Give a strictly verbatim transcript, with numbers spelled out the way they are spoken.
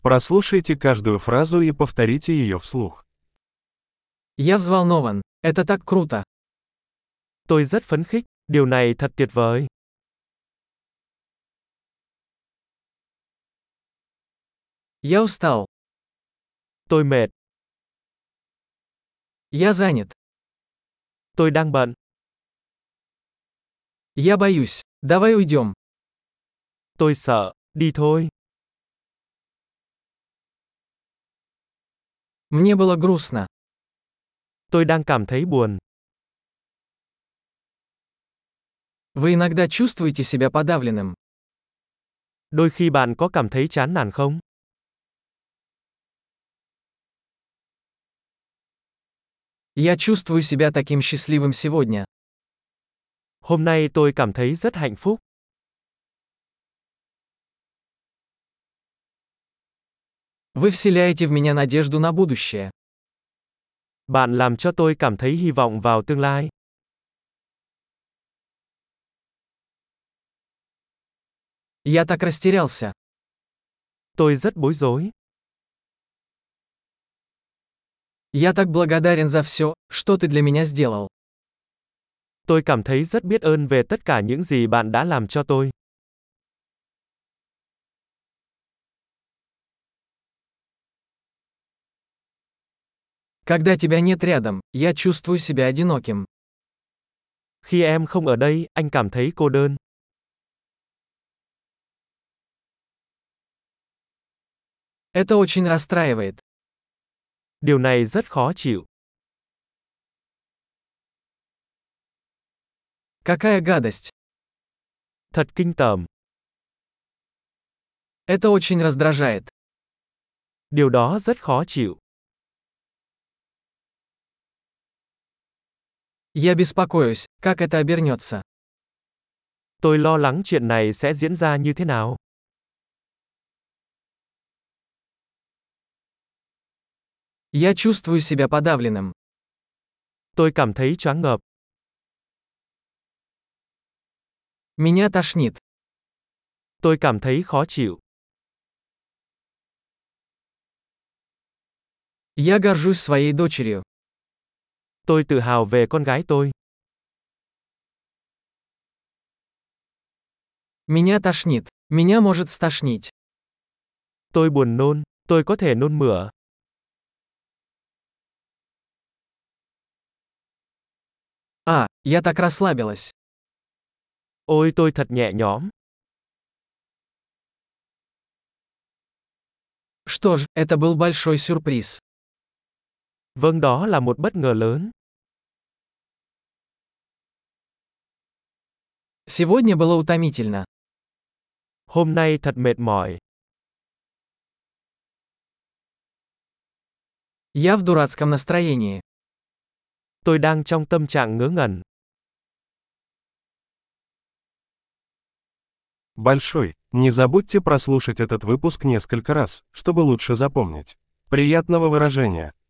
Прослушайте каждую фразу и повторите ее вслух. Я взволнован. Это так круто. Tôi rất phấn khích, điều này thật tuyệt vời. Я устал. Tôi mệt, Я занят. tôi đang bận, Я боюсь. Давай уйдем. tôi sợ, đi thôi. Мне было грустно. Tôi đang cảm thấy buồn. Вы иногда чувствуете себя подавленным. Đôi khi bạn có cảm thấy chán nản không? Я чувствую себя таким счастливым сегодня. Hôm nay tôi cảm thấy rất hạnh phúc. Вы вселяете в меня надежду на будущее. Bạn làm cho tôi cảm thấy hy vọng vào tương lai. Я так растерялся. Tôi rất bối rối. Я так благодарен за все, что ты для меня сделал. Tôi cảm thấy rất biết ơn về tất cả những gì bạn đã làm cho tôi. Когда тебя нет рядом, я чувствую себя одиноким. Khi em không ở đây, anh cảm thấy cô đơn. Это очень расстраивает. Điều này rất khó chịu. Какая гадость. Thật kinh tởm. Это очень раздражает. Điều đó rất khó chịu. Я беспокоюсь, как это обернется. Tôi lo lắng chuyện này sẽ diễn ra như thế nào. Я чувствую себя подавленным. Tôi cảm thấy choáng ngợp. Меня тошнит. Tôi cảm thấy khó chịu. Я горжусь своей дочерью. Tôi tự hào về con gái tôi. Меня тошнит. Меня может стошнить. Tôi buồn nôn, tôi có thể nôn mửa. А, я так расслабилась. Ôi tôi thật nhẹ nhõm. Что ж, это был большой сюрприз. Vâng, đó là một bất ngờ lớn. Сегодня было утомительно. Hôm nay thật mệt mỏi. Я в дурацком настроении. Tôi đang trong tâm trạng ngớ ngẩn. Большой. Не забудьте прослушать этот выпуск несколько раз, чтобы лучше запомнить. Приятного выражения!